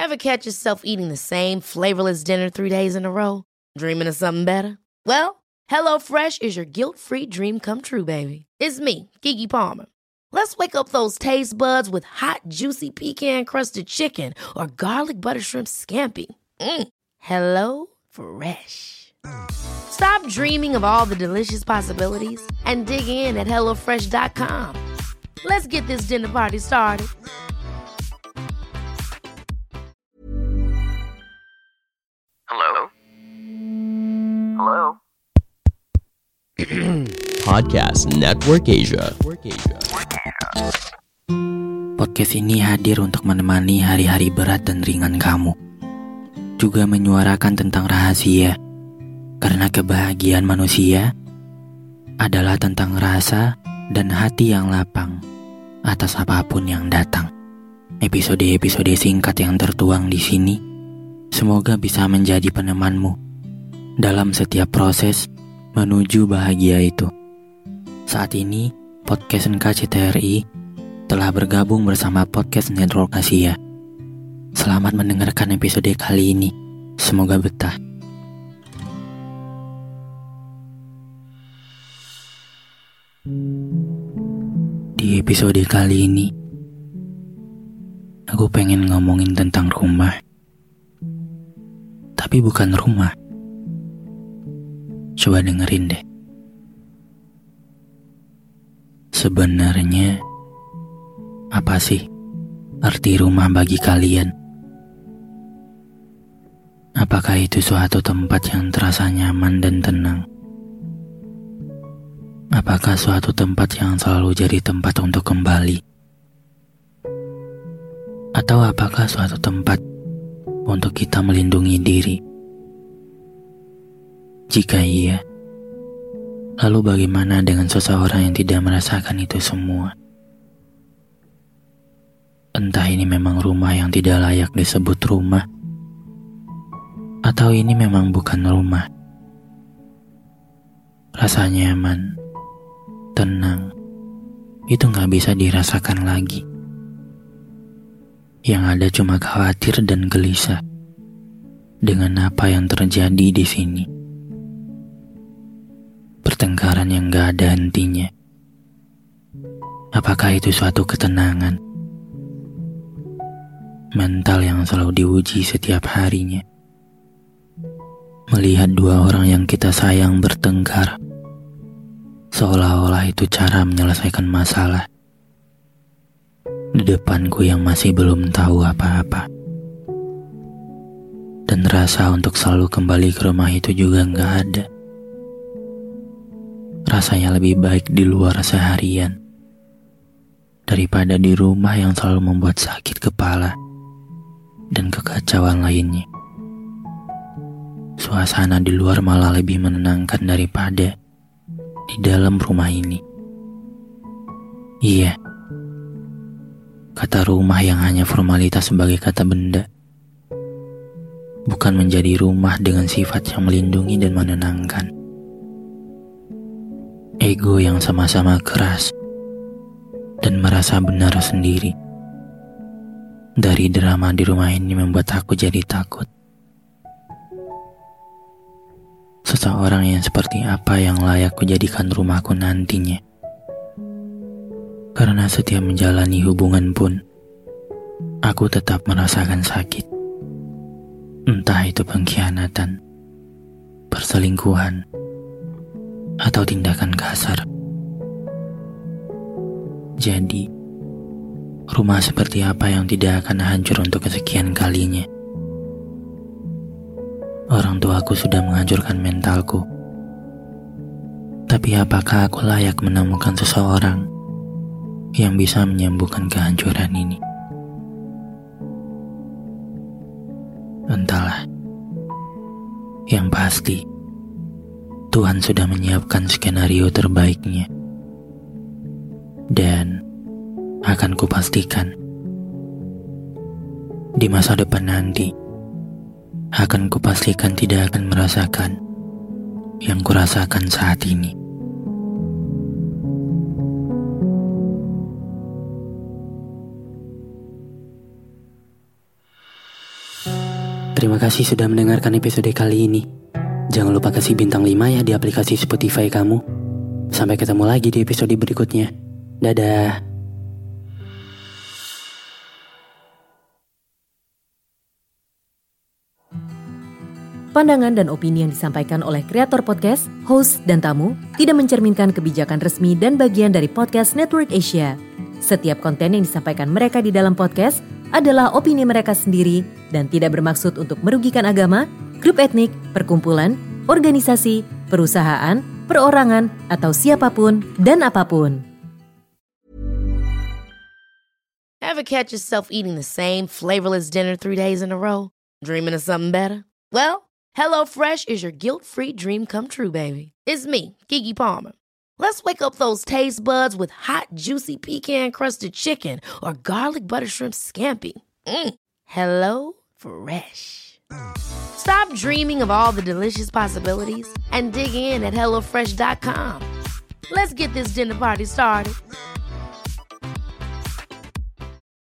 Ever catch yourself eating the same flavorless dinner 3 days in a row? Dreaming of something better? Well, HelloFresh is your guilt-free dream come true, baby. It's me, Keke Palmer. Let's wake up those taste buds with hot, juicy pecan-crusted chicken or garlic butter shrimp scampi. Hello Fresh. Stop dreaming of all the delicious possibilities and dig in at HelloFresh.com. Let's get this dinner party started. Hello? Hello? Podcast Network Asia. Podcast ini hadir untuk menemani hari-hari berat dan ringan kamu. Juga menyuarakan tentang rahasia. Karena kebahagiaan manusia adalah tentang rasa dan hati yang lapang atas apapun yang datang. Episode-episode singkat yang tertuang di sini semoga bisa menjadi penemanmu dalam setiap proses menuju bahagia itu. Saat ini, Podcast NKCTRI telah bergabung bersama Podcast Network Asia. Selamat mendengarkan episode kali ini. Semoga betah. Di episode kali ini, aku pengen ngomongin tentang rumah. Tapi bukan rumah. Coba dengerin deh. Sebenarnya, apa sih arti rumah bagi kalian? Apakah itu suatu tempat yang terasa nyaman dan tenang? Apakah suatu tempat yang selalu jadi tempat untuk kembali? Atau apakah suatu tempat untuk kita melindungi diri? Jika iya, lalu bagaimana dengan seseorang yang tidak merasakan itu semua? Entah ini memang rumah yang tidak layak disebut rumah, atau ini memang bukan rumah. Rasa nyaman, tenang, itu gak bisa dirasakan lagi. Yang ada cuma khawatir dan gelisah dengan apa yang terjadi di sini. Pertengkaran yang gak ada hentinya. Apakah itu suatu ketenangan? Mental yang selalu diuji setiap harinya. Melihat dua orang yang kita sayang bertengkar, seolah-olah itu cara menyelesaikan masalah. Di depanku yang masih belum tahu apa-apa. Dan rasa untuk selalu kembali ke rumah itu juga gak ada. Rasanya lebih baik di luar seharian daripada di rumah yang selalu membuat sakit kepala dan kekacauan lainnya. Suasana di luar malah lebih menenangkan daripada di dalam rumah ini. Iya, kata rumah yang hanya formalitas sebagai kata benda, bukan menjadi rumah dengan sifat yang melindungi dan menenangkan. Ego yang sama-sama keras dan merasa benar sendiri. Dari drama di rumah ini membuat aku jadi takut. Seseorang yang seperti apa yang layak kujadikan rumahku nantinya. Karena setiap menjalani hubungan pun, aku tetap merasakan sakit. Entah itu pengkhianatan, perselingkuhan, atau tindakan kasar. Jadi, rumah seperti apa yang tidak akan hancur untuk kesekian kalinya? Orang tuaku sudah menghancurkan mentalku. Tapi apakah aku layak menemukan seseorang yang bisa menyembuhkan kehancuran ini? Entahlah. Yang pasti, Tuhan sudah menyiapkan skenario terbaiknya. Dan akan kupastikan di masa depan nanti akan kupastikan tidak akan merasakan yang kurasakan saat ini. Terima kasih sudah mendengarkan episode kali ini. Jangan lupa kasih bintang 5 ya di aplikasi Spotify kamu. Sampai ketemu lagi di episode berikutnya. Dadah. Pandangan dan opini yang disampaikan oleh kreator podcast, host, dan tamu tidak mencerminkan kebijakan resmi dan bagian dari Podcast Network Asia. Setiap konten yang disampaikan mereka di dalam podcast adalah opini mereka sendiri dan tidak bermaksud untuk merugikan agama, grup etnik, perkumpulan, organisasi, perusahaan, perorangan, atau siapapun dan apapun. Ever catch yourself eating the same flavorless dinner 3 days in a row? Dreaming of something better? Well, HelloFresh is your guilt-free dream come true, baby. It's me, Keke Palmer. Let's wake up those taste buds with hot, juicy pecan-crusted chicken or garlic butter shrimp scampi. Hello Fresh. Stop dreaming of all the delicious possibilities and dig in at HelloFresh.com. Let's get this dinner party started.